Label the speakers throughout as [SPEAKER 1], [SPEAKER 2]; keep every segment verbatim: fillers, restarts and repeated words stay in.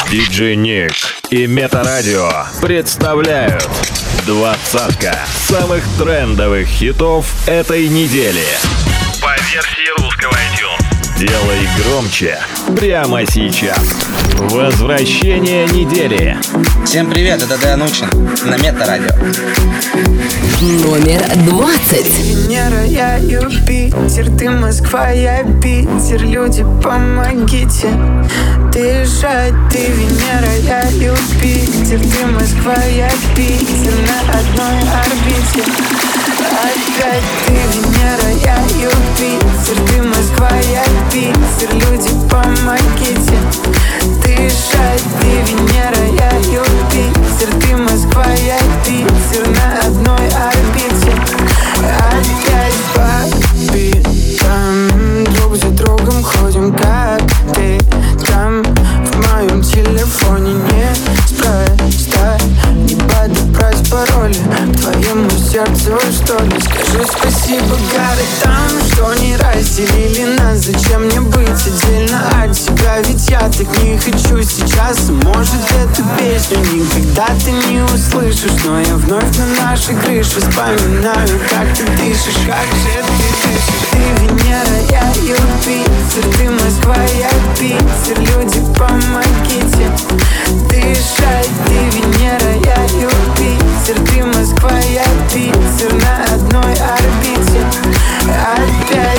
[SPEAKER 1] диджей Ник и Метарадио представляют двадцатка самых трендовых хитов этой недели по версии русского iTunes. Делай громче прямо сейчас. Возвращение недели.
[SPEAKER 2] Всем привет, это Дэн Учин на Метарадио.
[SPEAKER 3] Номер двадцать.
[SPEAKER 4] Венера, я Юпитер, ты Москва, я Питер. Люди, помогите дышать. Ты Венера, я Юпитер, ты Москва, я Питер. На одной орбите. Опять ты Венера, я Юпитер, ты Москва, я Питер. Люди, помогите дышать. Ты Венера, я Юпитер, ты Москва, я Питер. На одной орбите. Опять по битам, друг за другом ходим, как ты там. В моем телефоне не спроста не подобрать пароли к твоему сердцу, что ли. Скажи спасибо городам, что не разделили нас. Зачем мне быть отдельно от тебя? Ведь я так не хочу сейчас. Может, эту песню никогда ты не услышишь, но я вновь на нашей крыше вспоминаю, как ты дышишь, как же ты дышишь. Ты Венера, я Юпитер, ты Москва, я Питер. Люди, помогите дышать. Ты Венера, я Юпитер, ты Москва, я Питер. На одной орбите. Опять.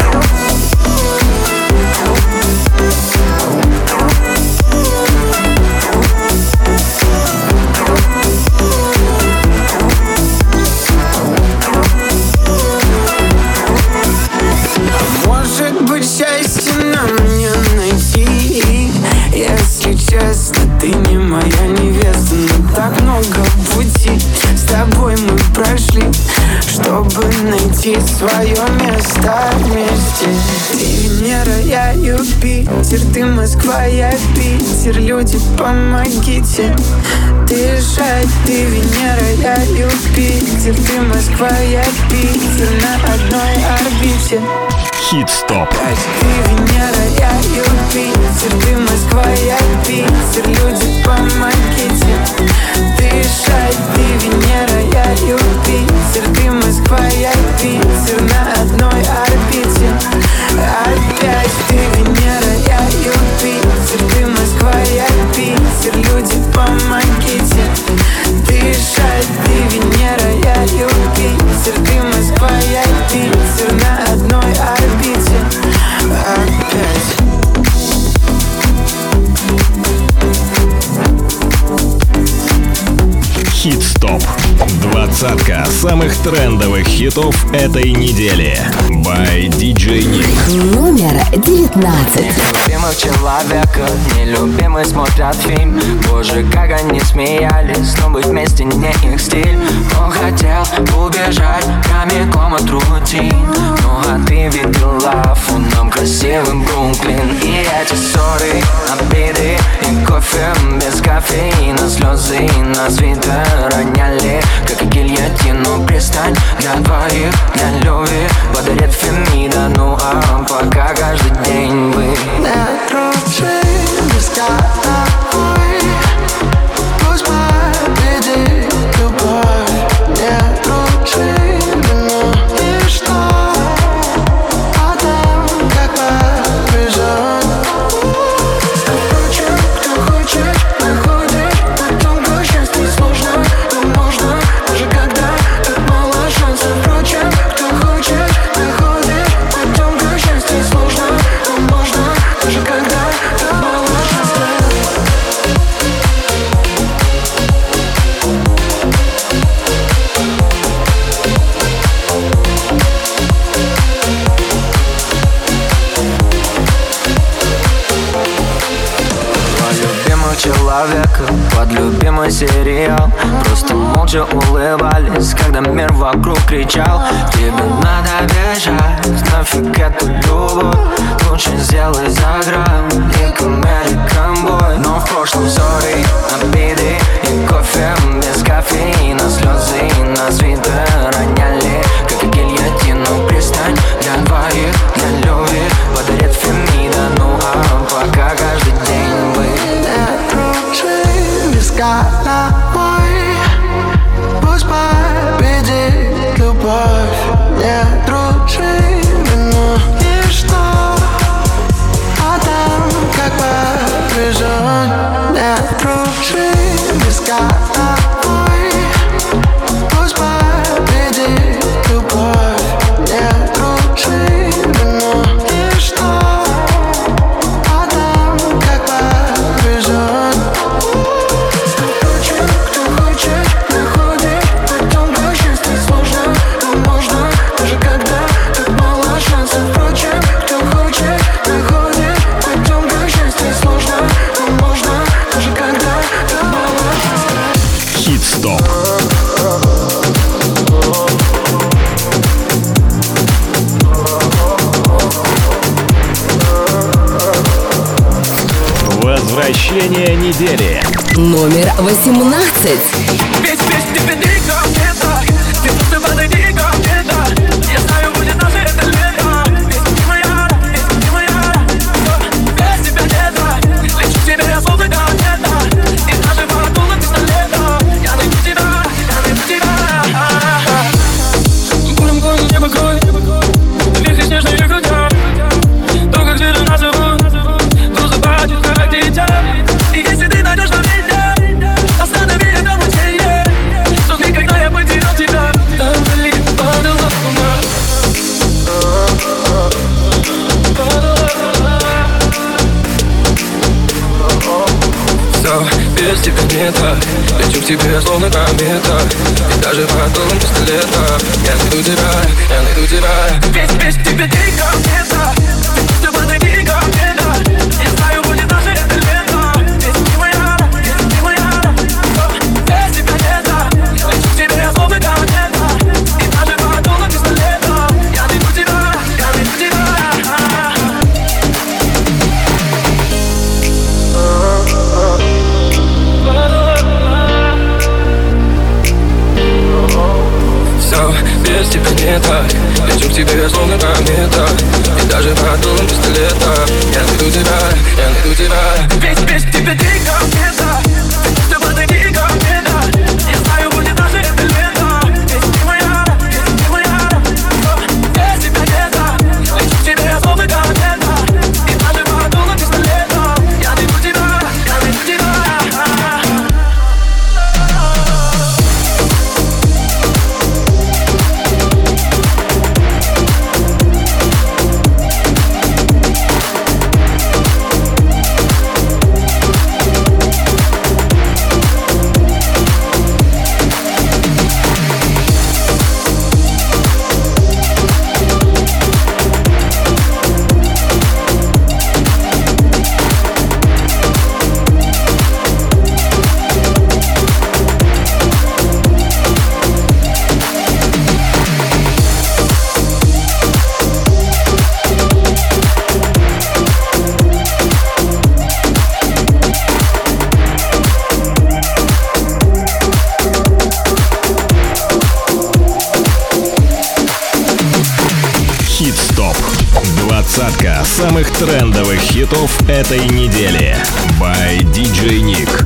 [SPEAKER 4] Может быть, счастье нам не найти. Если честно, ты не моя невеста, но так много пути с тобой мы прошли, чтобы найти свое место вместе. Ты Венера, я Юпитер, ты Москва, я Питер. Люди, помогите дышать. Ты Венера, я Юпитер, ты Москва, я Питер. На одной орбите.
[SPEAKER 1] Хит-стоп.
[SPEAKER 4] Ты Венера, я Юпитер, ты Москва, я Питер. Люди, помогите дышать. Ты Венера, я Юпитер, ты Москва, я Питер. На одной орбите. Опять ты Венера, я Юпитер, ты Москва, я Питер. Люди, помогите дышать. Ты Венера, я Юпитер, ты Москва, я Питер. На одной орбите. Опять.
[SPEAKER 1] Хит-стоп. Двадцатка самых трендовых хитов этой недели by диджей Ник.
[SPEAKER 3] Номер девятнадцать.
[SPEAKER 5] Любимых человека, нелюбимый смотрят фильм. Боже, как они смеялись, но быть вместе не их стиль. Он хотел убежать прямиком от рутин. Ну а ты видела фоном красивым Бруклин. И эти ссоры, обиды и кофе без кофеина. Слезы на свитер роняли, как гильотину пристань для двоих, для любви подарит Фемида. Ну а пока каждый день вы
[SPEAKER 4] не дружим без головой. Пусть победит любовь. Не дружим, но и что? Потом как побежит. Впрочем, кто хочет, находит. Потом счастье сложно, но можно. Даже когда так мало шансов. Впрочем, кто хочет, находит. Потом счастье сложно, но можно. Даже когда так мало шансов.
[SPEAKER 5] любимых человека под любимый сериал. Просто молча улыбались, когда мир вокруг кричал: тебе надо бежать, нафиг эту любовь. Лучше сделай за грамм, Ник American Boy. Но в прошлом ссоры, обиды и кофе без кофеина. Слезы на свитер роняли, как гильотину пристань для двоих, для любви подарит Фемида. Ну а пока каждый день вы
[SPEAKER 1] Возвращение недели.
[SPEAKER 3] Номер восемнадцать.
[SPEAKER 6] Ведь без тебя никак не так. Ты просто подойди ко мне, да. Я знаю, будет наше это лето. Ведь ты моя, ведь ты моя. Без тебя не так. Лечу к тебе, я словно комета. И даже по дулу пистолета я найду тебя, я найду тебя. Бурым гоним небо кровь. Вихри снежные грудя. То, как звери нас зовут. Грузы падают, как дитя. И если ты найдешь на меня, останови это мучение. Что никогда я потерял тебя. Там вдали падала луна. Все, без тебя не так. Лечу к тебе, словно комета. И даже под дулом пистолета я найду тебя, я найду тебя. Ведь без тебя никак не так. Ты просто подойди ко мне, да. Я знаю, будет наше это лето. Ведь ты моя, ведь ты моя. Без тебя не так. Лечу к тебе, словно комета. И даже под дулом пистолета я найду тебя, я найду тебя. Все, без тебя не так. Лечу к тебе, словно комета. И даже под дулом пистолета я найду тебя, я найду тебя. Ведь без тебя никак не так. Ты просто подойди ко мне, да. Я знаю, будет наше это лето. Ведь ты моя, ведь ты моя. Без тебя не так. Лечу к тебе, словно комета. И даже под дулом пистолета я найду тебя, я найду тебя.
[SPEAKER 1] Хит-стоп. Двадцатка самых трендовых хитов этой недели. By ди джей Nick.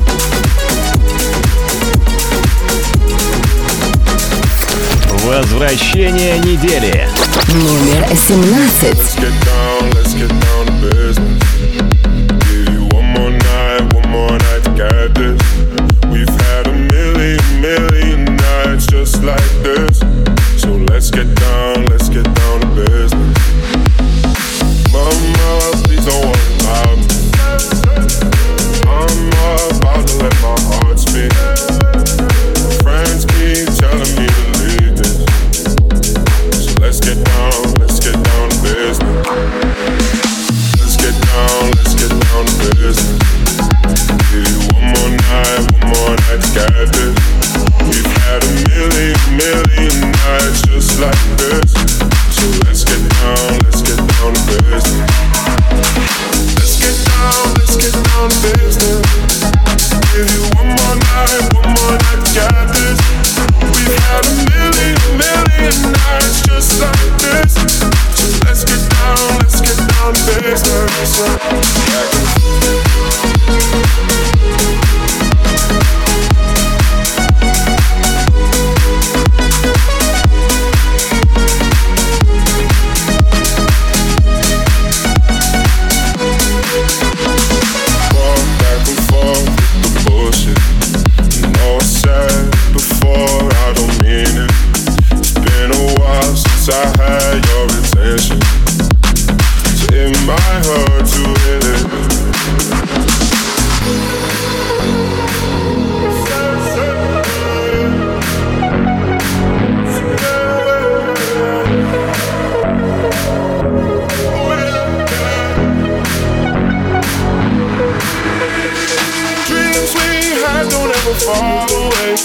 [SPEAKER 1] Возвращение недели.
[SPEAKER 3] Номер семнадцать.
[SPEAKER 7] Let's get down, let's get down to business. Mama, please don't worry about me. I'm about to let my heart speak. Friends keep telling me to leave this. So let's get down, let's get down to business. Let's get down, let's get down to business. Give you one more night, one more night to get this. We've had a million, million nights just like this. So let's get down, let's get down to business. Let's get down, let's get down to business. Give you one more night, one more night to get this. We've had a million, million nights just like this. So let's get down, let's get down to business. I had your attention, so it might hurt to hit it. Dreams we had don't ever fall away.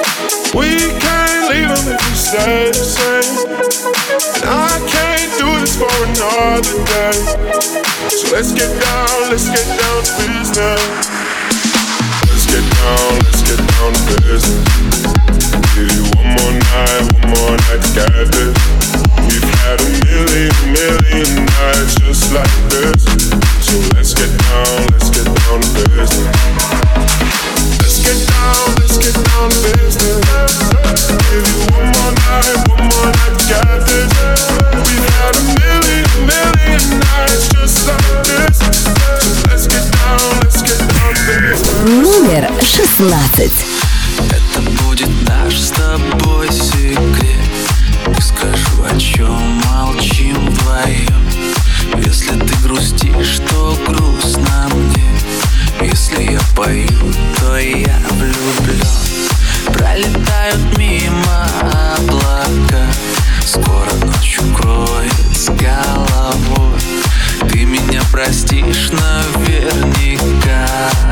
[SPEAKER 7] We can't leave them if we stay the same. And I can't do this is for another day. So let's get down, let's get down to business. Let's get down, let's get down to business. Give you one more night, one more night to get this. We've had a million, million nights just like this. So let's get down, let's get down to business. Let's get down, let's get down to business. Give you one more night, one more night to get this. We've had a million, million nights just like this. So let's get down, let's get down to business.
[SPEAKER 3] Номер шестнадцать.
[SPEAKER 5] Это будет наш с тобой секрет. Не скажу, о чем молчим вдвоем. Если ты грустишь, то грустно мне. Если я пою, то я влюблен. Пролетают мимо облака. Скоро ночь укроет с головой. Ты меня простишь наверняка.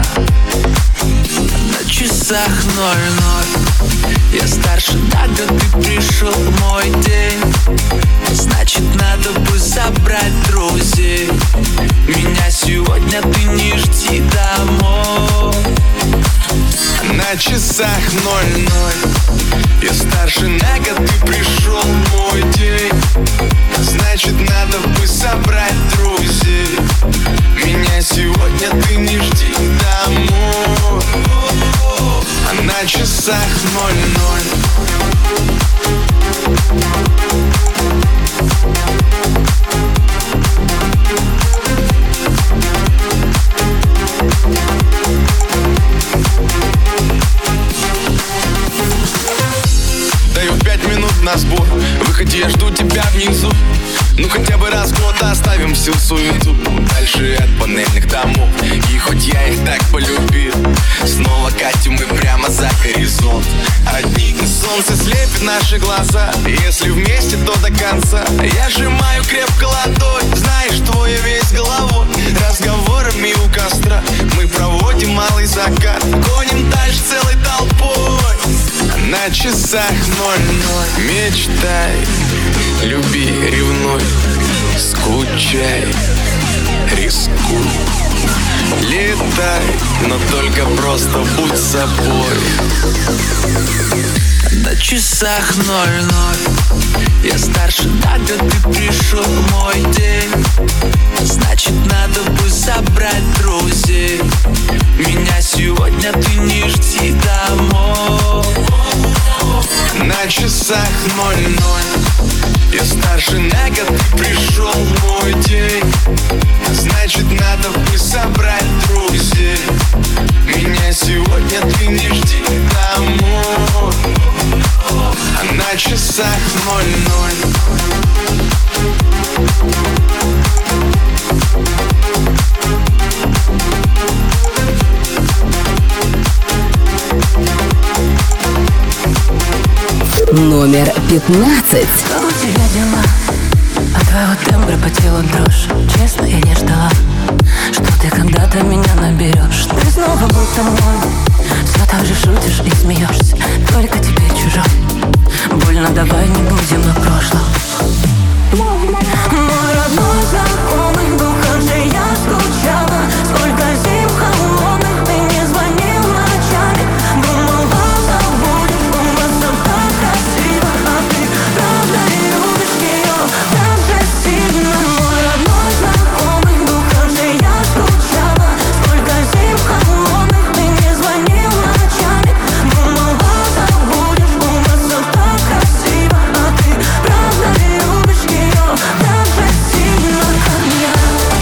[SPEAKER 5] На часах ноль-ноль. Я старше на год, ты пришел в мой день. Значит, надо бы собрать друзей. Меня сегодня ты не жди домой. На часах ноль-ноль. Я старше на год, ты пришел в мой день. Значит, надо бы собрать друзей. Меня сегодня ты не жди домой. А на часах ноль-ноль. Даю пять минут на сбор. Выходи, я жду тебя внизу. Ну хотя бы раз в год оставим всю суету. Дальше от панельных домов. И хоть я их так полюбил, снова катим мы прямо за горизонт. Одни солнце слепит наши глаза. Если вместе, то до конца. Я сжимаю крепко ладонь. Знаешь, твой весь головой. Разговорами у костра мы проводим малый закат. Гоним дальше целой толпой. На часах ноль-ноль. Мечтай, люби, ревнуй, скучай, рискуй. Летай, но только просто будь собой. На часах ноль-ноль. Я старше на год, ты пришел в мой день. Значит, надо бы собрать друзей. Меня сегодня ты не жди домой. На часах ноль-ноль. Я старше на год, ты пришел в мой день. Значит, надо бы собрать друзей. Меня сегодня ты не жди домой. А на часах ноль-ноль.
[SPEAKER 3] Номер пятнадцать.
[SPEAKER 8] Как у тебя дела? От твоего тембра по телу дрожь. Честно, я не ждала, что ты когда-то меня наберешь. Ты снова будто мой. Все так же шутишь и смеешься. Только тебе чужой. Больно, давай не будем о прошлом. Мой родной знакомый, был, как же я скучала. Сколько зим холодных, ты не звонил ночами. Думала, забудешь, было все так красиво. А ты правда любишь ее так же сильно. Мой родной знакомый, был, как же я скучала. Сколько зим холодных, ты не звонил ночами. Думала, забудешь, было все так красиво. А ты правда любишь ее так же сильно, как я.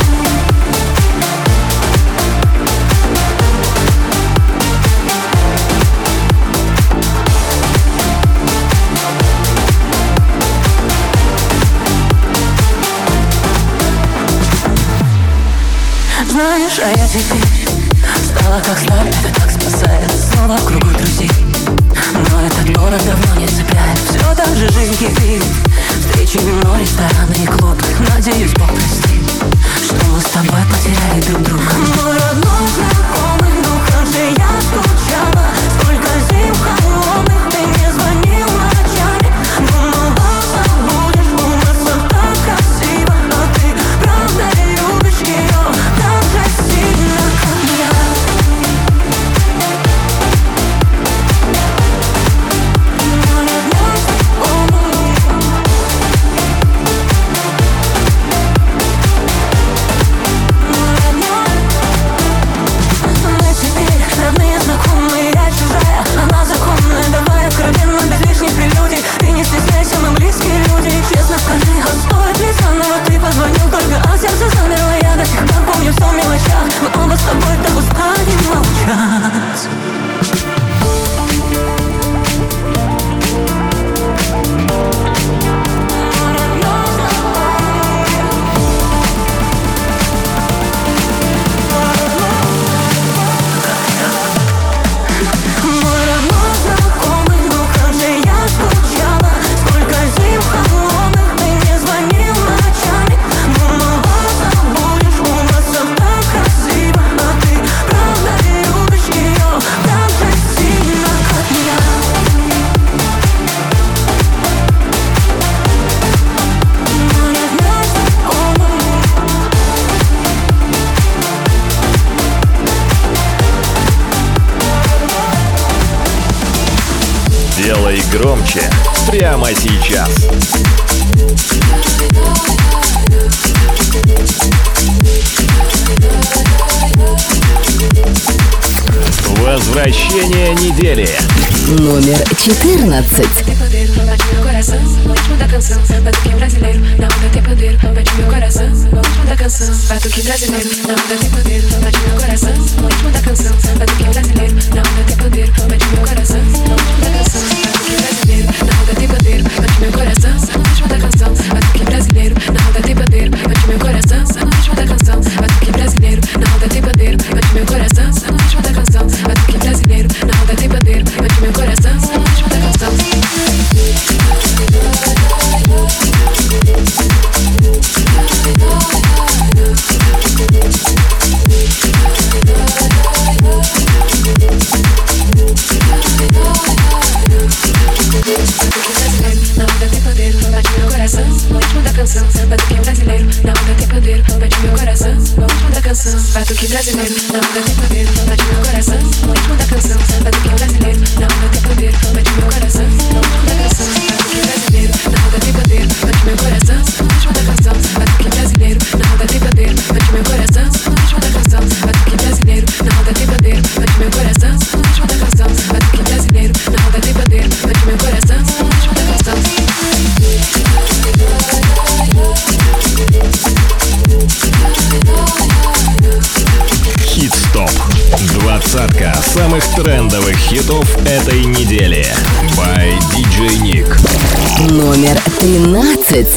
[SPEAKER 8] Знаешь, а я теперь стала как сталь, это так спасает. Снова в кругу друзей, но этот город давно не цепляет. Все так же жизнь кипит, встречи, вино, рестораны и клубы. Надеюсь, Бог простит, что мы с тобой потеряли друг друга. Мой родной знакомый, ну как же я скучала. Сколько зим холодных, ты не звонил ночами. Думала, забудешь, было все так красиво.
[SPEAKER 1] громче прямо сейчас. Возвращение недели.
[SPEAKER 3] Номер четырнадцать.
[SPEAKER 9] Batuque brasileiro, na onda tem poder, bate meu coração, no ritmo da canção. Batuque brasileiro, na onda tem poder, bate meu coração, no ritmo da canção. Batuque brasileiro, na onda tem poder, bate meu coração, no ritmo da canção. Batuque brasileiro, na onda tem poder, bate meu coração, no ritmo da canção. Batuque brasileiro, na onda tem poder, bate meu coração, no ritmo da canção. Batuque brasileiro, na onda tem poder, bate meu coração, no ritmo da canção.
[SPEAKER 1] Хит-стоп. Двадцатка самых трендовых хитов этой недели. By ди джей Nick.
[SPEAKER 3] Номер тринадцать.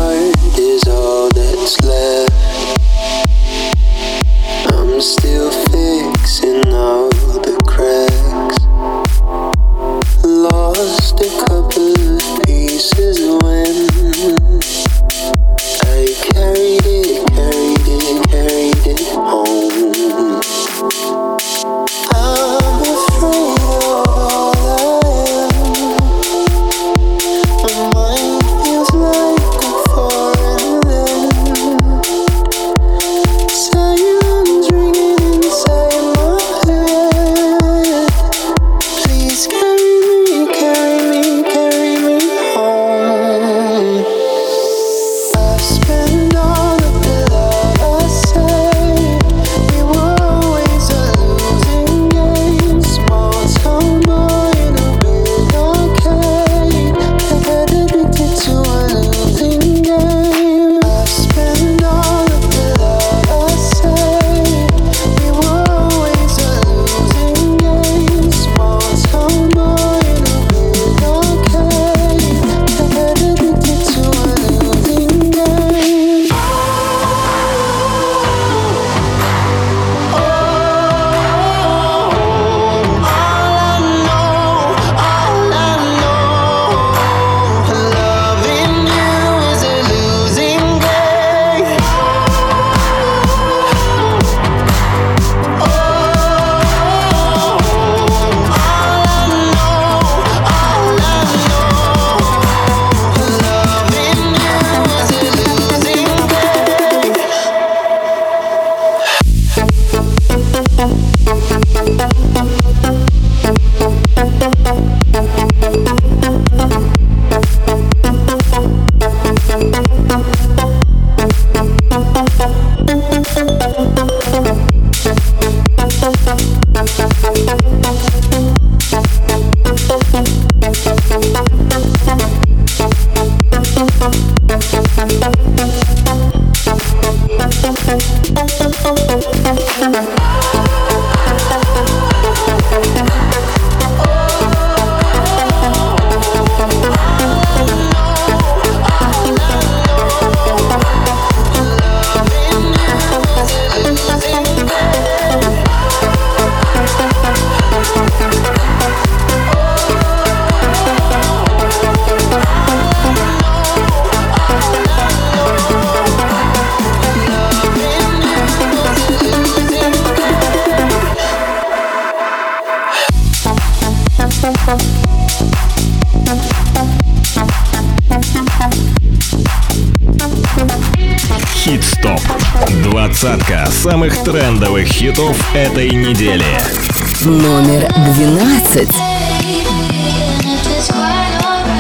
[SPEAKER 1] Хит-стоп. Двадцатка самых трендовых хитов этой недели.
[SPEAKER 3] Номер двенадцать.
[SPEAKER 8] It's quite alright.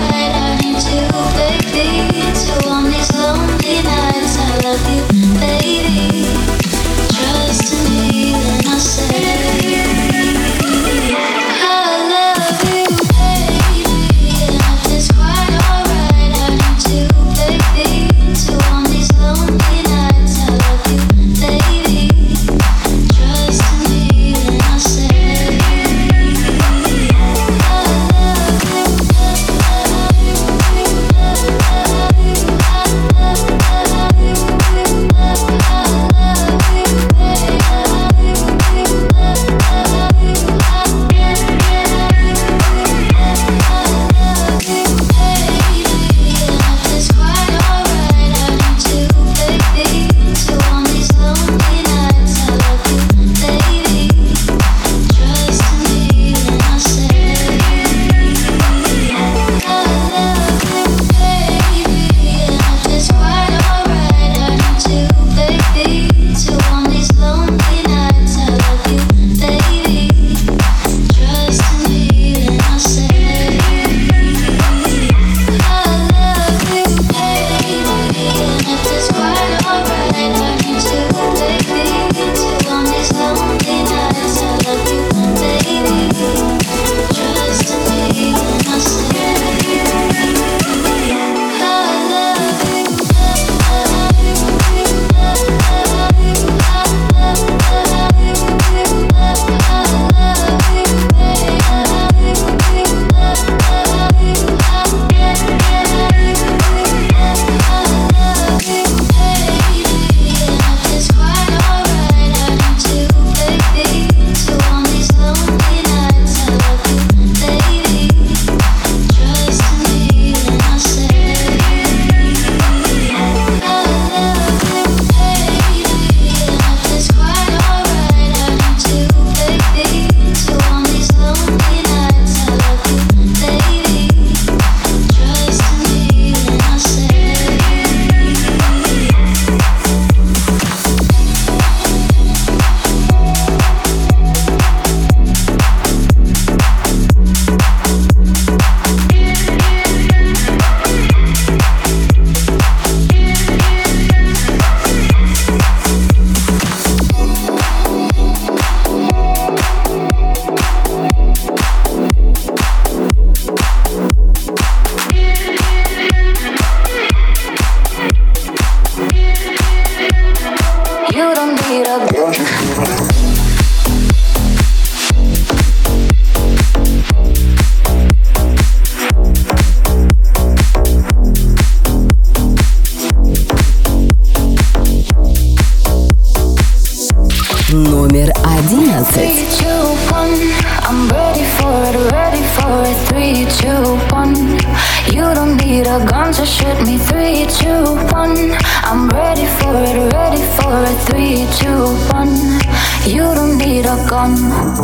[SPEAKER 3] Номер одиннадцать.
[SPEAKER 8] I'm ready for it, ready for it. Three, two, one. You don't need a gun to shoot me. Three, two, one. I'm ready for it, ready for it. Three, two, one. You don't need a gun.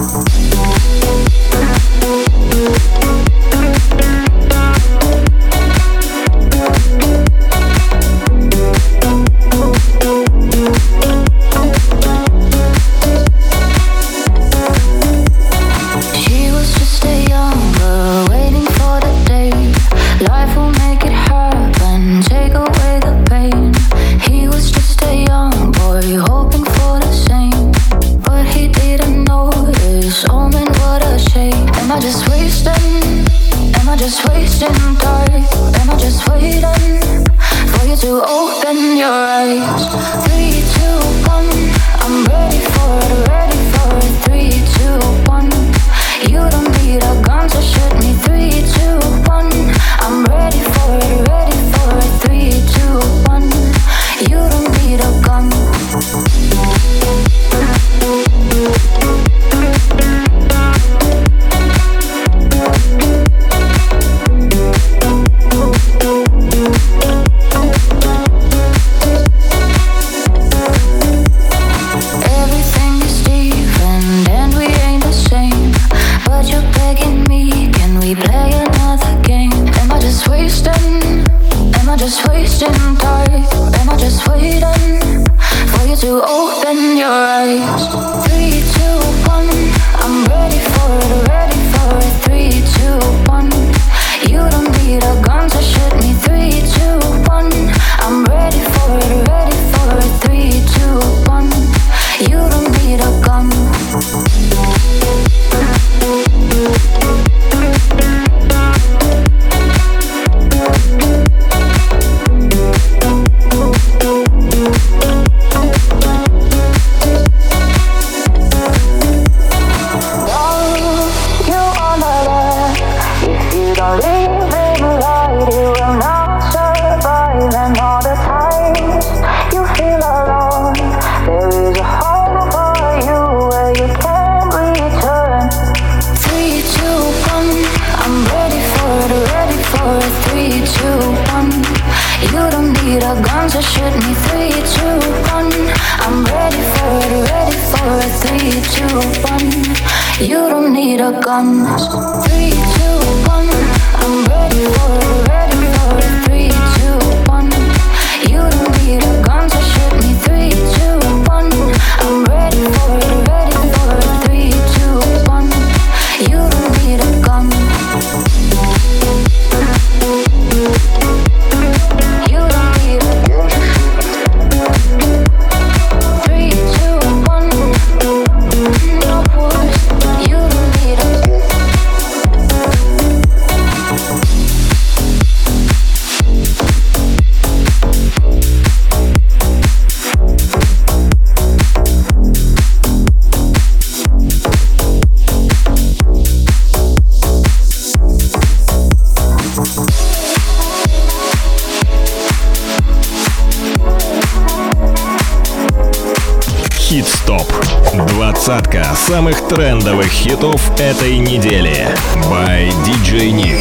[SPEAKER 1] Хит-стоп. Двадцатка самых трендовых хитов этой недели. By ди джей Nick.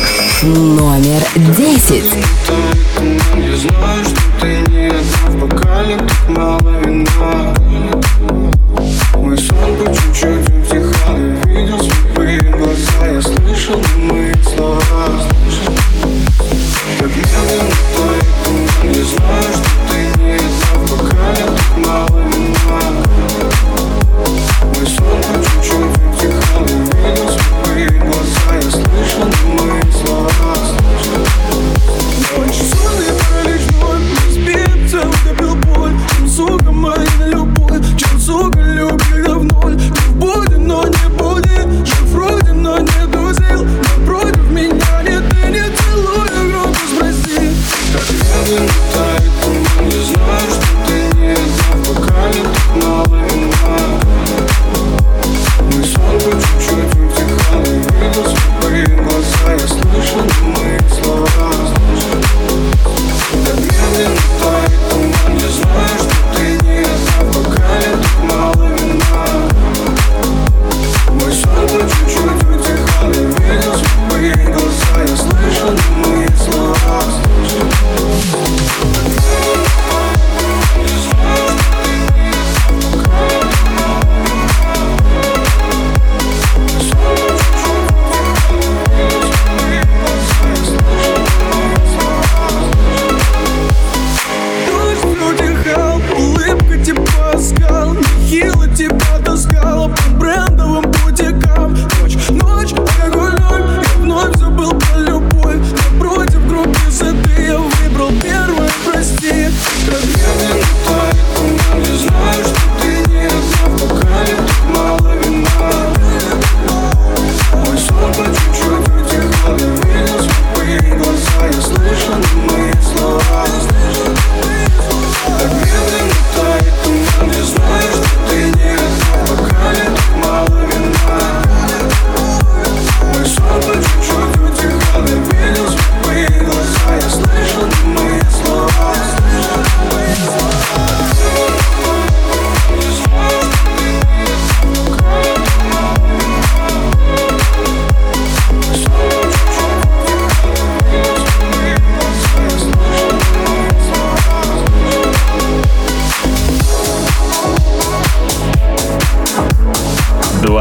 [SPEAKER 3] Номер десять.
[SPEAKER 10] Я знаю, что ты не одна в бокале, так мало вина. Мой сон по чуть-чуть утихал, я видел слепые глаза, я слышал немые слова. Как медленно твои туман, я знаю, что ты не одна в бокале, так мало вина. Мой сон по чуть-чуть утихал, я видел слепые глаза, я слышал немые слова. Почувствованный паралич вновь разбит, утопил боль. Чем, сука, моя любовь, чем, сука, любви я в ноль.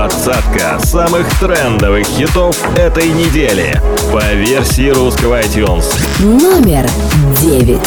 [SPEAKER 1] Двадцатка самых трендовых хитов этой недели по версии русского iTunes.
[SPEAKER 3] Номер девять.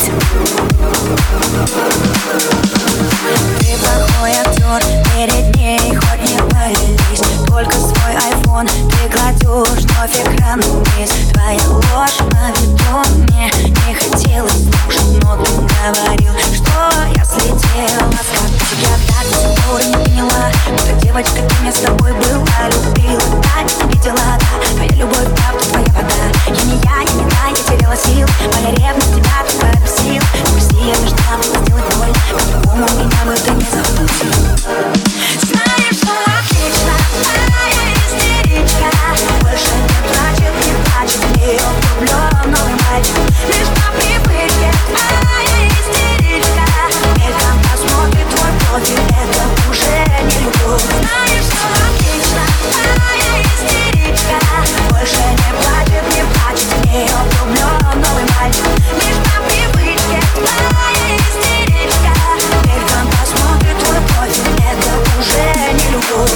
[SPEAKER 8] Ты плохой актер, перед ней хоть не пались. Только свой айфон ты кладешь вновь экран вниз. Твоя ложь на виду мне не хотелось слушать, но ты говорил, что я слетела с катушек. Я так до сих пор не поняла, будто девочка, кем я с тобой была, любила, так не видела, да. Твоя любовь, правда, твоя вода. Я не я, я не та, я теряла сил. Моя ревность тебя только бесил. Пусти, я должна была сделать боль, по-другому меня бы ты не заплатил. Знаешь, что отлично, моя истеричка больше не плачет, не плачет, в нее влюблен новый мальчик. Лишь по привычке, моя истеричка мельком посмотрит твой профиль, это уже не любовь. Знаешь, что отлично, моя истеричка больше не плачет, не плачет, в нее влюблен новый мальчик. Лишь по привычке, моя истеричка мельком посмотрит твой профиль, это уже не любовь.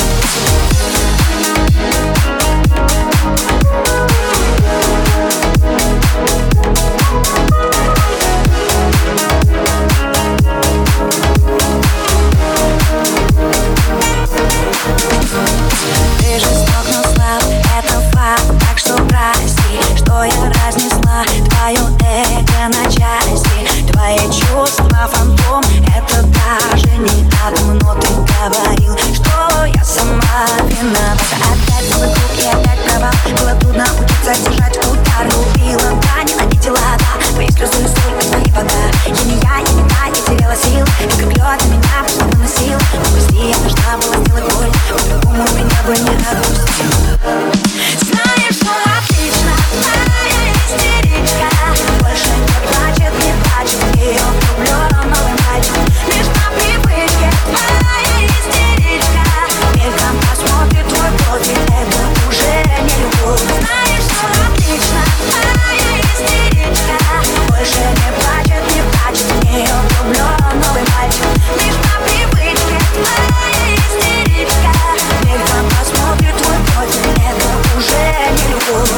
[SPEAKER 8] Ты жесток, но слаб, это факт, так что прости, что я разнесла твое эго на части. Твои чувства фантом, это даже не атом, но ты говорил, что я сама виновата. Опять целый круг и опять провал, было трудно учиться держать удар. Любила, да, ненавидела, да, твои слезы и соль, а твои вода. Я не я, я не та, я теряла сил, ты как лед на меня просто выносил. Но прости, я должна была сделать боль, по-другому меня бы не отпустил. Знаешь, что отлично, моя истеричка больше не плачет, не плачет, в нее влюблен новый мальчик. Лишь по привычке, моя истеричка мельком посмотрит твой профиль, это уже не любовь. Знаешь, что отлично, моя истеричка больше не плачет, не плачет, в нее влюблен новый мальчик. Лишь по привычке, моя истеричка мельком посмотрит твой профиль, это уже не любовь.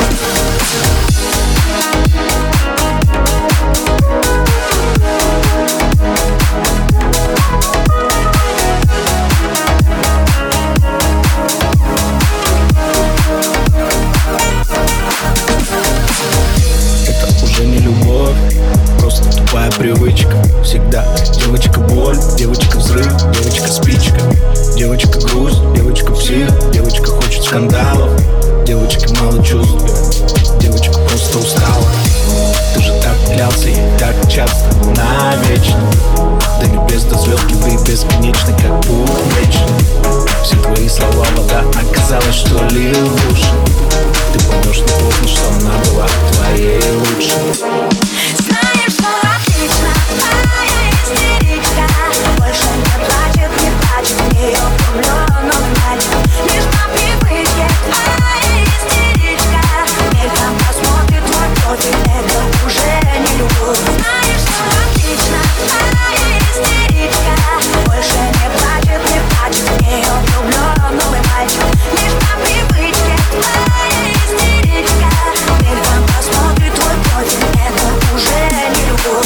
[SPEAKER 11] Это уже не любовь, просто тупая привычка. Всегда девочка боль, девочка взрыв, девочка спичка, девочка грусть, девочка псих, девочка хочет скандалов, девочка мало чувств, девочка просто устала. Ты же так клялся ей так часто, навечно. До небес, до звезд, любви бесконечны, как путь вечный. Все твои слова вода, оказалось, что лил в уши. Ты поймешь не поздно, что она была твоей лучшей.
[SPEAKER 8] Знаешь, что отлично, моя истеричка больше не плачет, не плачет, в нее влюблен новый мальчик. Лишь по привычке, моя истеричка мельком посмотрит твой профиль, это уже не любовь. Знаешь, что отлично, моя истеричка больше не плачет, не плачет, в нее влюблен новый мальчик. Лишь по привычке, моя истеричка мельком посмотрит твой профиль, это уже не любовь.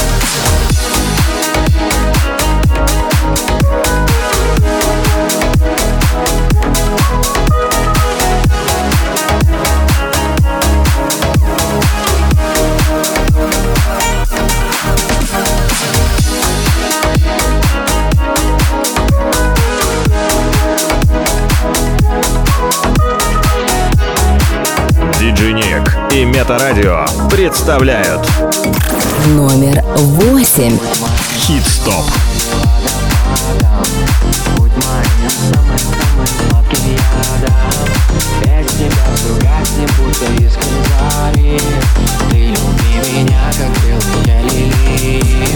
[SPEAKER 1] Диджей Ник и Метарадио представляют
[SPEAKER 3] Номер восемь.
[SPEAKER 1] Хит-стоп.
[SPEAKER 5] Будь моим самым-самым сладким ядом. Без тебя все гаснет, будто искры зари. Ты люби меня, как белые лилии.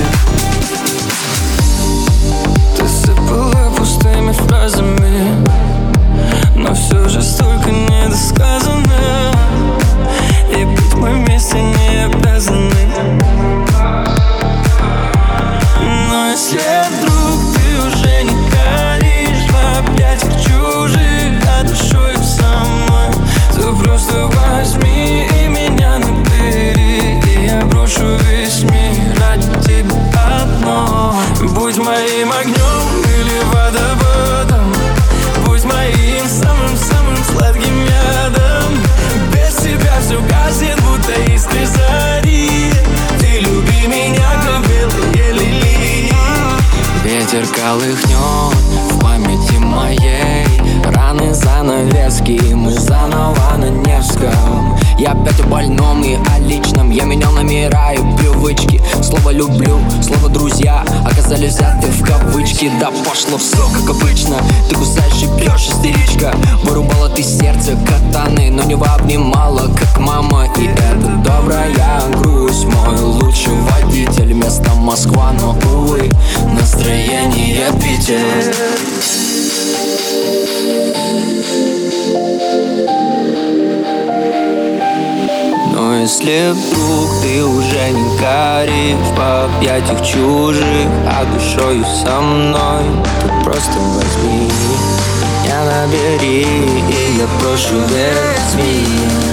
[SPEAKER 10] Ты сыпала пустыми фразами, но все же столько недосказано. И быть мы вместе не обязаны. Но если вдруг ты уже не горишь в объятиях
[SPEAKER 5] Полыхнет в памяти моей раны, занавески, мы заново на Невском. Я опять о больном и о личном. Я менял номера и привычки. Слово «люблю», слово «друзья» оказались взяты в кавычки. Да пошло все как обычно. Ты кусаешь и пьешь, истеричка. Вырубала ты сердце катаны, но не обнимала, как мама. И это добрая грусть. Мой лучший водитель, место Москва, но, увы, настроение Питер. Но если вдруг ты уже не горишь в объятиях чужих, а душою со мной, то просто возьми меня, набери, и я прошу, возьми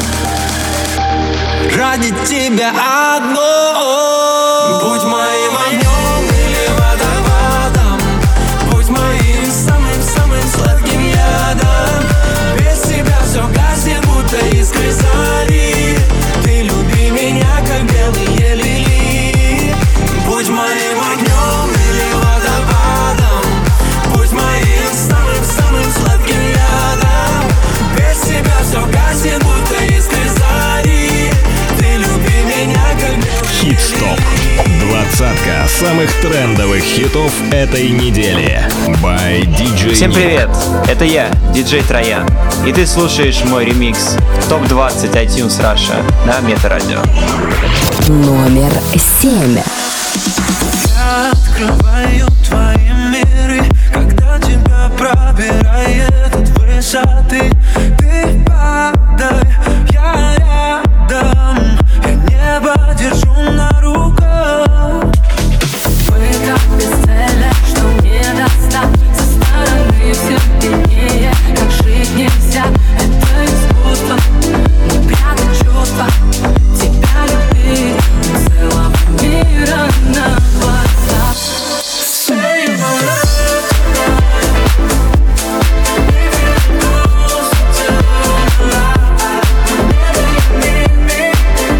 [SPEAKER 5] ради тебя одной. Будь моим огнем или водопадом, будь моим самым-самым сладким ядом. Без тебя все гаснет, будто искры зари. Ты люби меня, как белые лилии. Будь моим огнем или водопадом, будь моим самым-самым сладким ядом. Без тебя все гаснет, будто искры зари. Ты люби меня, как белые лилии.
[SPEAKER 1] Хит-стоп. Двадцатка самых трендовых хитов этой недели. By ди джей.
[SPEAKER 12] Всем привет, это я, диджей Троян. И ты слушаешь мой ремикс топ двадцать iTunes Russia на Метарадио.
[SPEAKER 3] Номер семь.
[SPEAKER 10] Я открываю твои миры, когда тебя пробирает от высоты. Ты падай, я рядом, я небо держу на руках.
[SPEAKER 9] Мы так бесцельны, что не достать. Со стороны все виднее, как жить нельзя. Это искусство, не прятать чувства. Тебя любить целого мира на глазах. Say my love tonight. If you're close to the light, whenever you need me,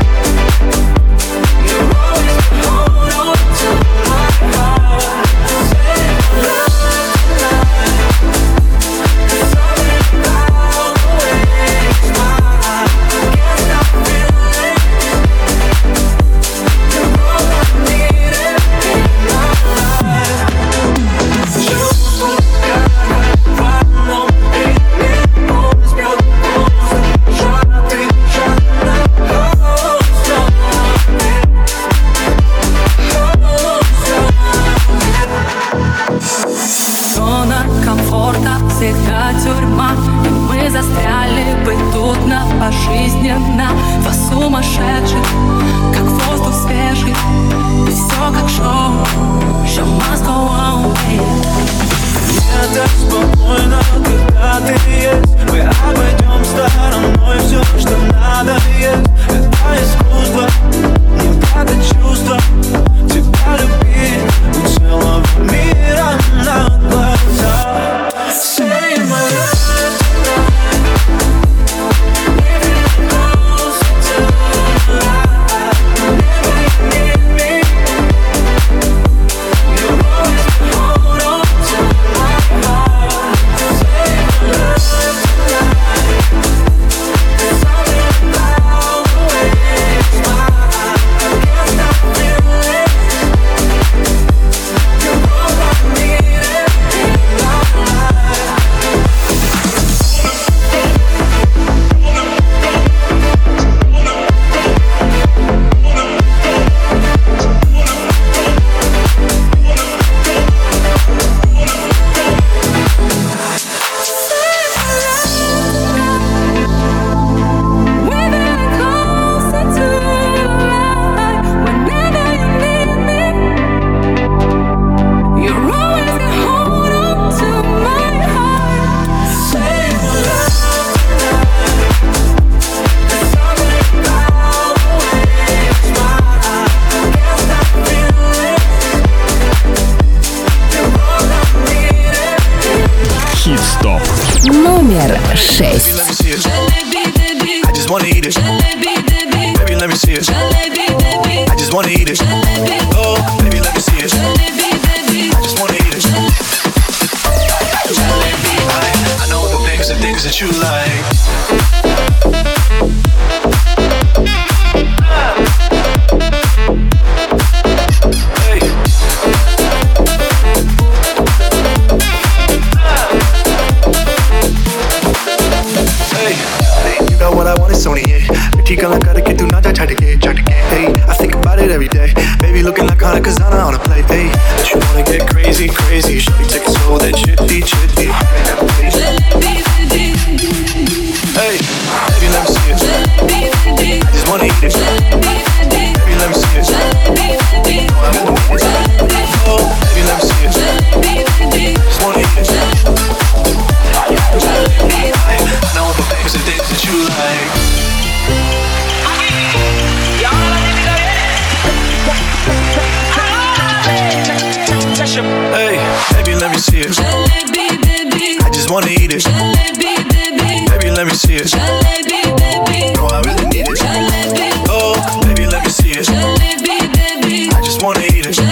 [SPEAKER 9] you'll always hold on to my heart. Say my love tonight. There's something about the way you smile. I can't stop feeling. You're all I need in my life. Чувствую, как в одном ритме он сбьет волосы. Жадный, жадный, oh, so зона комфорта всегда тюрьма, и мы застряли бы тут на пожизненно. Два сумасшедших, как воздух свежий, и все как шоу. Show must go on,
[SPEAKER 10] Мне так спокойно, когда ты есть. Мы обойдем стороной все, что надо есть. Это искусство, не прятать чувства. Тебя любить у целого мира на глазах. Say my love tonight. If you're close to the light, whenever you need me, you'll always hold on to my heart. Say my love tonight. There's something about the way you smile. I can't stop feeling. You're all I need in my life.
[SPEAKER 9] we're very close to the light. Whenever you need me, you're always gonna hold on to my heart.
[SPEAKER 10] Say my love tonight. There's something about the way you smile. I can't stop feeling. You're all I need in my life.
[SPEAKER 1] Хит-стоп.
[SPEAKER 3] Номер шесть.
[SPEAKER 10] Let me see it. I just wanna eat it. Baby, let me see it. I just wanna eat it. Oh, baby, let me see it. I just wanna eat it.
[SPEAKER 11] things that you like. Hey. Hey. You know what I want is Sony, yeah. Mitti gala karke tu na ja chhad ke, chhad ke. Hey, I think about it every day. Baby looking like Hana Kazana on a plate. Hey, but you wanna get crazy, crazy. Shorty take it slow, then chitty, chitty. Hey, baby, let me see it. I just wanna eat it. Baby, let me see it. Oh, I really need it. Oh, baby, let me see it. I just wanna eat it. I know the things and things that you like. Hey, baby, let me see it. I just wanna eat it. Baby, let me see it. No, I really need it. Oh, baby, let me see it. I just wanna eat it.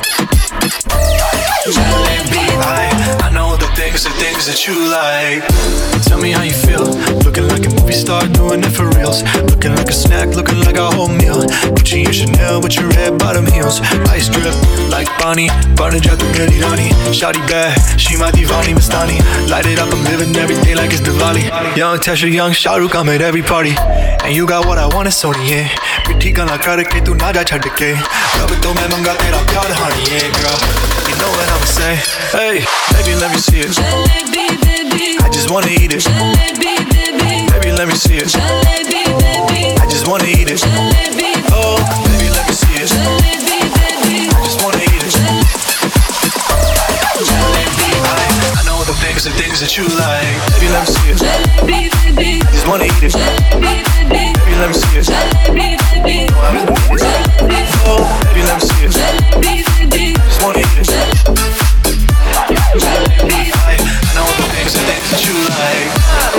[SPEAKER 11] I, I know the things, the things that you like. Tell me how you feel. Looking like a movie star, doing it for reals. Looking like a snack, looking like a whole meal. Gucci and Chanel with your red bottom heels. Ice drip like Bonnie, Barney Jatu Meri Rani. Shawty bad, she my divani Mastani. Light it up, I'm living every day like it's Diwali. Young Tesha, young Shahrukh, I'm at every party. And you got what I want, it's Sony, yeah. Mitti gala karke tu na ja chhad ke. Rab to main manga tera pyar, honey, yeah, girl. You know what I'ma say. Hey, baby, let me see it. I just wanna eat it. Baby, let me see it. I just wanna eat it. Oh, baby, let me see it. I just wanna eat it. I, I know the things and things that you like. Baby, let me see it. I just wanna eat it. Baby, let me see it. Oh, I really need it. Oh, baby, let me see it. I just wanna eat it. I, I know the things and things that you like.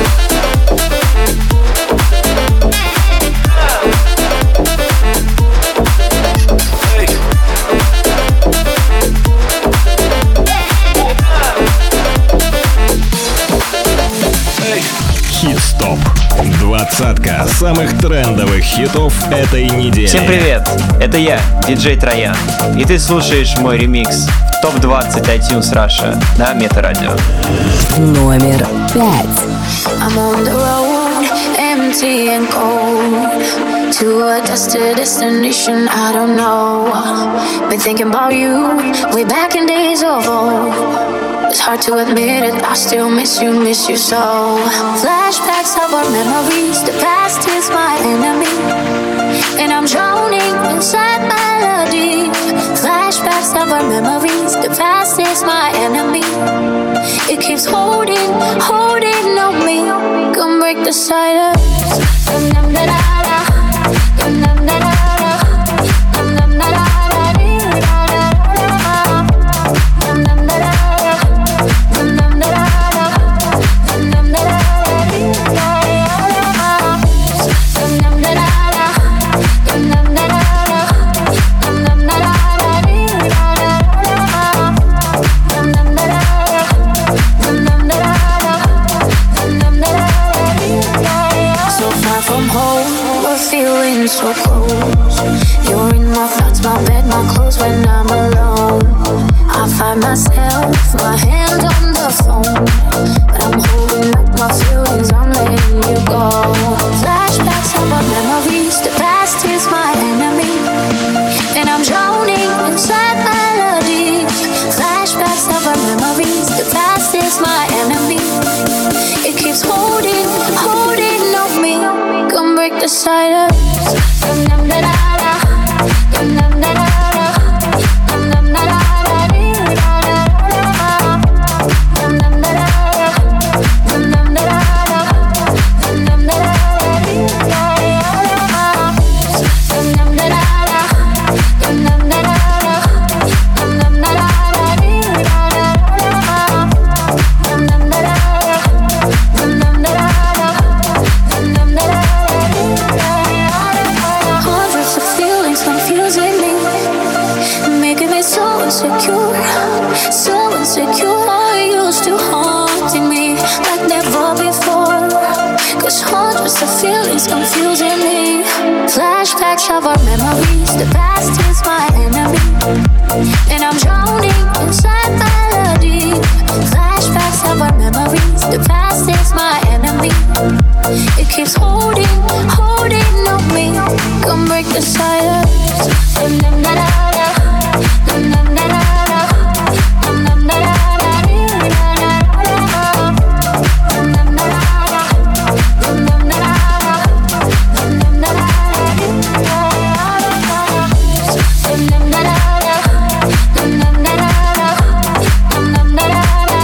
[SPEAKER 1] Хит-стоп. Двадцатка самых трендовых хитов этой недели.
[SPEAKER 12] Всем привет, это я, диджей Троян. И ты слушаешь мой ремикс в топ двадцать iTunes Russia на Метарадио.
[SPEAKER 3] Номер пять.
[SPEAKER 13] I'm on the road, empty and cold, to a destined destination I don't know. Been thinking about you, way back in days of old. It's hard to admit it, I still miss you, miss you so. Flashbacks of our memories, the past is my enemy, and I'm drowning inside melody. Flashbacks of our memories, the past is my enemy. It keeps holding, holding on me. Come break the silence. So close, you're in my thoughts, my bed, my clothes when I'm alone. I find myself, my hand on the phone, but I'm holding up my feelings, I'm letting you go. Flashbacks of our memories, the past is my enemy, and I'm drowning inside melodies. Flashbacks of our memories, the past is my enemy. It keeps holding, holding on me. Come break the silence. So insecure, you're still haunting me like never before. cause the feeling's confusing me. Flashbacks of our memories, the past is my enemy, and I'm drowning inside melody. Flashbacks of our memories, the past is my enemy. It keeps holding, holding on me. Come break the silence. Dum dum da da da, dum dum da da da, dum dum da da da da da da, dum dum da da da, dum dum da da da, dum dum da da da, dum dum da da da, dum dum da da da, dum dum da da da, dum dum da da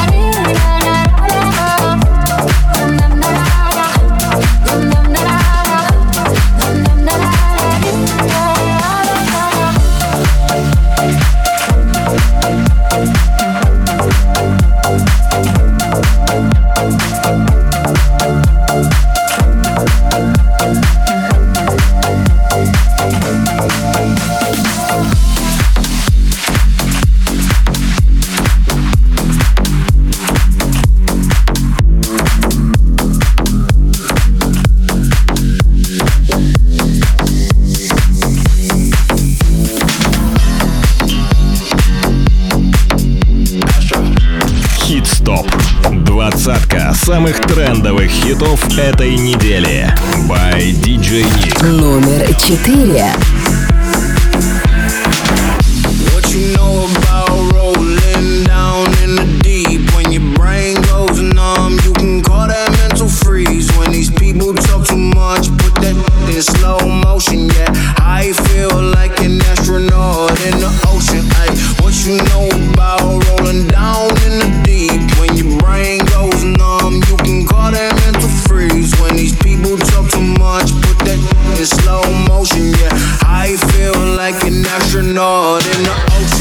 [SPEAKER 1] Двадцатка самых трендовых хитов этой недели. By ди джей Nick.
[SPEAKER 3] Номер четыре.
[SPEAKER 10] What you know about rolling down in the deep? When your brain goes numb, you can call that mental freeze. When these people talk too much, put that in slow motion. Yeah, I feel like an astronaut in the ocean. Ay, what you know about rolling down in the deep? When your brain goes numb, you can call that mental freeze. When these people talk too much, put that in slow motion. Yeah, I feel like an astronaut in the ocean.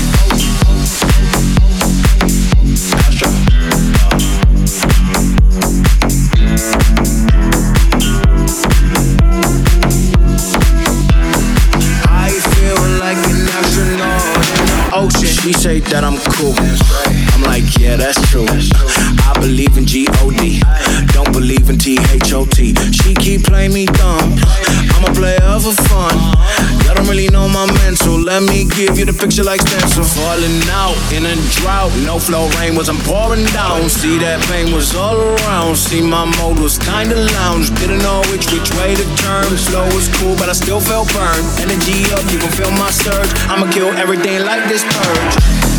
[SPEAKER 10] I feel like an astronaut in the ocean. She say that I'm cool. I'm like, yeah, that's true. I believe in G O D, don't believe in T H O T. She keep playing me dumb. I'm a player for fun. Y'all don't really know my mental. Let me give you the picture like stencil. Falling out in a drought. No flow rain was I'm pouring down. See that pain was all around. See my mode was kinda lounge. Didn't know which which way to turn. Flow was cool, but I still felt burned. Energy up, you can feel my surge. I'ma kill everything like this purge.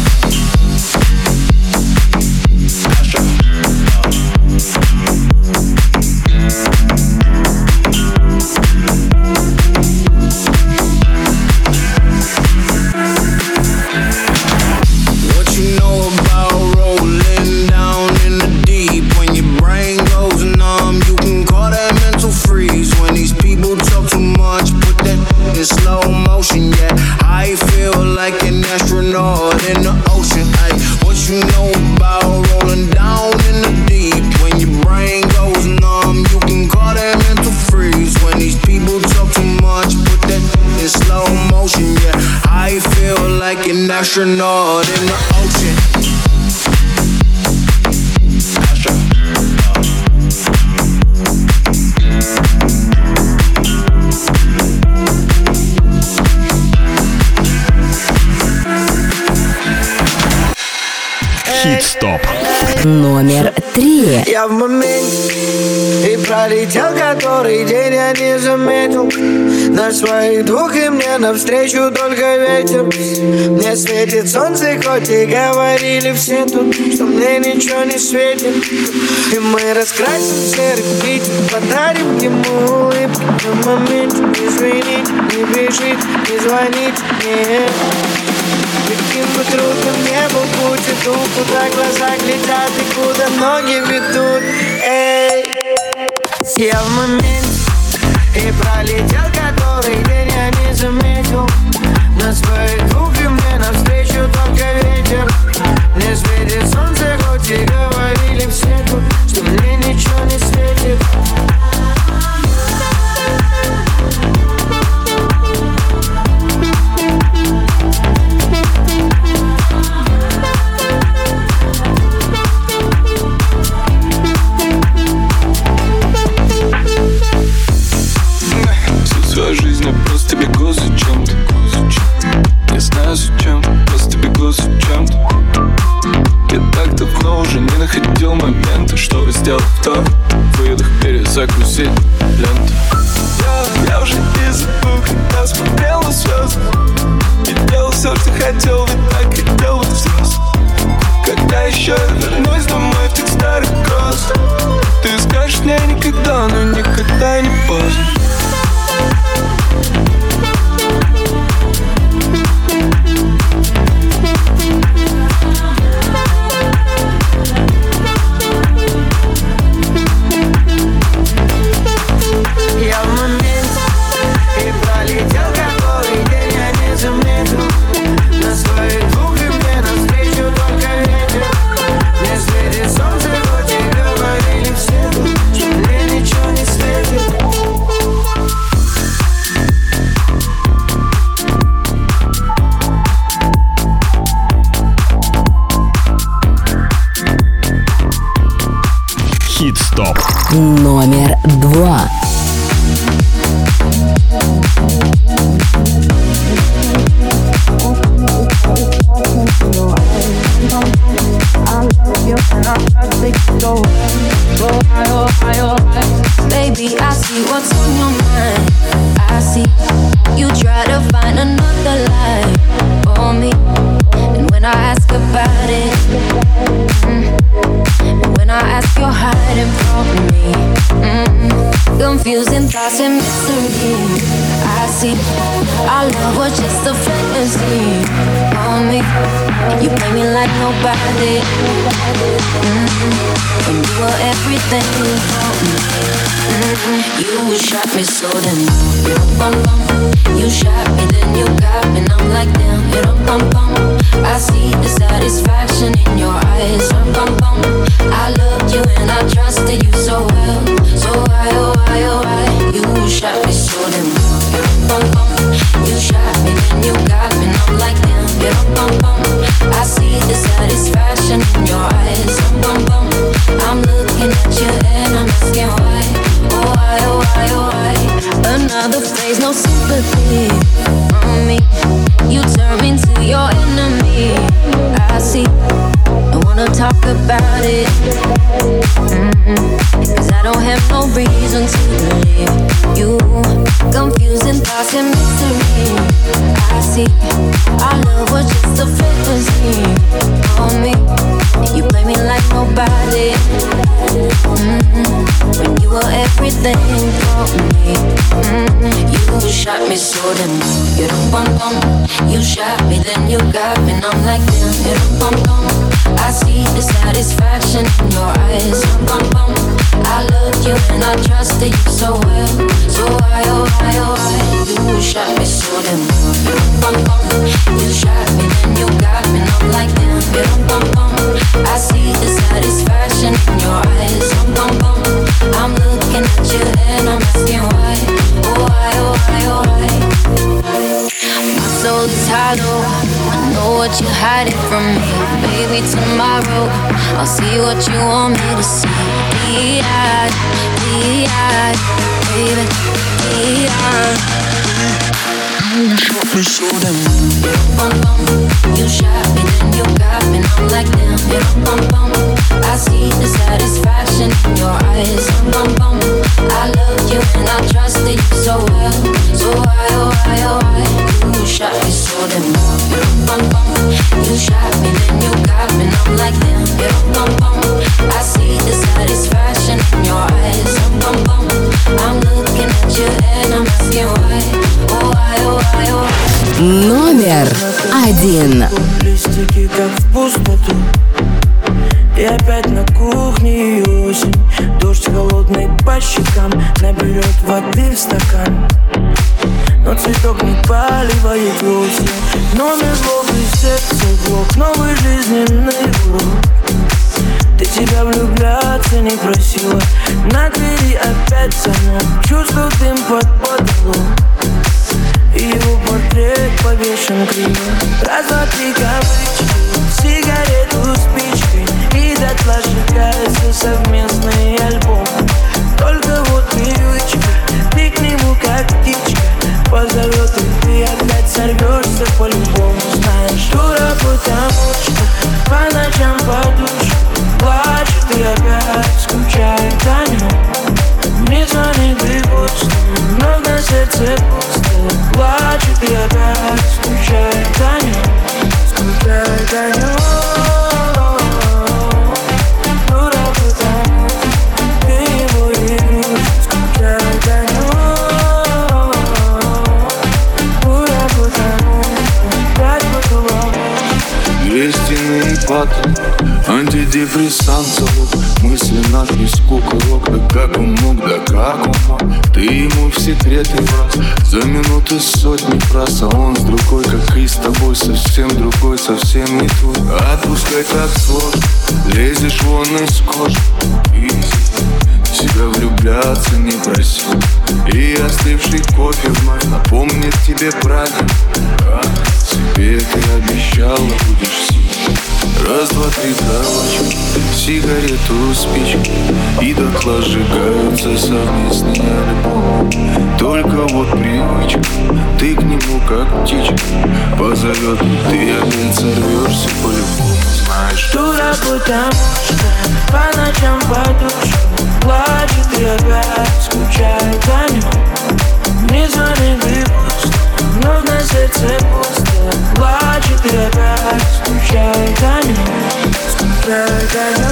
[SPEAKER 10] Astronaut in the ocean.
[SPEAKER 1] Хит-стоп.
[SPEAKER 3] Номер три.
[SPEAKER 4] Я в моменте и пролетел который день, я не заметил на своих двух, и мне навстречу только ветер. Мне светит солнце, хоть и говорили все тут, что мне ничего не светит. И мы раскрасим серый Питер, подарим ему улыбку. В моменте извините, не бежите, не звоните мне. Каким бы трудным не был путь, иду, куда глаза глядят и куда ноги ведут. Эй, я в моменте и пролетел который день, я не заметил на своих двух, и мне навстречу только ветер. Мне светит солнце, хоть и говорили все тут, что мне ничего не светит.
[SPEAKER 14] закусить ленту. Я, я уже не забыл, когда смотрел на звезды и делал все, что хотел, ведь так хотел быть взрослым. Когда еще я вернусь домой в тех старых гроз, ты скажешь мне никогда, но никогда не поздно.
[SPEAKER 4] Я в моменте и пролетел какой день, я не заметил. На своих двух и мне навстречу только ветер. Не светит солнце, хоть и говорили все тут, что мне ничего не светит.
[SPEAKER 1] Хит-стоп
[SPEAKER 3] номер два.
[SPEAKER 8] Baby, I see what's on your mind. I see you try to find another life for me. And when I ask about it, mm, when I ask, you're hiding from me. Mm, confusing thoughts and mystery. I see our love was just a fantasy for me. You play me like nobody. Mm-hmm. And you were everything for me. Mm-hmm. You shot me so then you bum bum. You shot me then you got me and I'm like damn you bum bum. I see the satisfaction in your eyes. Bum bum. I loved you and I trusted you so well. So why oh why oh why you shot me so then you bum bum. You shot me then you got me and I'm like damn you bum bum. I see the satisfaction in your eyes. Bum bum. I'm looking at you and I'm asking why. Oh why, oh why, oh why. Another phase, no sympathy on me. You turn me to your enemy. I see, I wanna talk about it. Mm-hmm. Cause I don't have no reason to believe you. Confusing thoughts and mystery. I see, our love was just a fantasy on me. You play me like nobody. Mm-hmm. When you were everything for me. Mm-hmm. You shot me so then you don't bum bum. You shot me then you got me and I'm like damn you don't bum bum. I see the satisfaction in your eyes. Bum bum. I loved you and I trusted you so well. So why oh why oh why you shot me so then you don't bum bum. You shot me then you got me and I'm like damn you don't bum bum. I see the satisfaction in your eyes. Bum bum. I'm looking at you and I'm asking why. Oh why, oh why, oh why. My soul is hollow. I know what you're hiding from me. Baby, tomorrow I'll see what you want me to see. D-I, D-I, baby, D-I. You shot me so damn. Bum bum. You shot me then you got me and I'm like damn you bum bum. I see the satisfaction in your eyes. Bum bum. I loved you and I trusted you so well. So why oh why oh why you shot me so damn. Bum bum. You shot me then you got me and I'm like damn you bum bum. I see the satisfaction in your eyes. Bum bum. I'm looking at you and I'm asking why. Oh why oh why oh why.
[SPEAKER 3] Номер один.
[SPEAKER 15] Листики как в пустоту. И опять на кухне осень. Дождь холодный по щекам. Наберет воды в стакан. Но цветок не поливает вовсе. Номер злобный, сердце блок. Новый жизненный урок. Ты тебя влюбляться не просила. На двери опять замок. Чувствую дым под потолок. И его портрет повешен криво. Раз, два, три кавычки, сигарету спичкой. И дотла сжигается совместный альбом. Только вот привычка, ты к нему как птичка. Позовет и ты опять сорвешься по-любому. Знаешь, дура, потому что по ночам подушку плачет и опять скучает о нем.
[SPEAKER 10] психиатр, антидепрессант залог, мысли на песку курок. Да как он мог, да как он мог? Ты ему в секреты враз, за минуты сотни фраз, а он с другой, как и с тобой, совсем другой, совсем не твой. Отпускай так сложно, лезешь вон из кожи, и себя влюбляться не проси. И остывший кофе вновь напомнит тебе правильно, как тебе ты обещала будешь сидеть. Раз, два, три, кровачка, сигарету, спичку, и дотла сжигаются совместные альбомы. Только вот привычка, ты к нему как птичка позовет, и ты опять сорвешься по-любому. Знаешь,
[SPEAKER 15] дура, потому что по ночам подушку плачет и опять скучает о нем. Не звонит и пусто, вновь на сердце пусто. Плачет и опять скучает о нем, скучает о нем.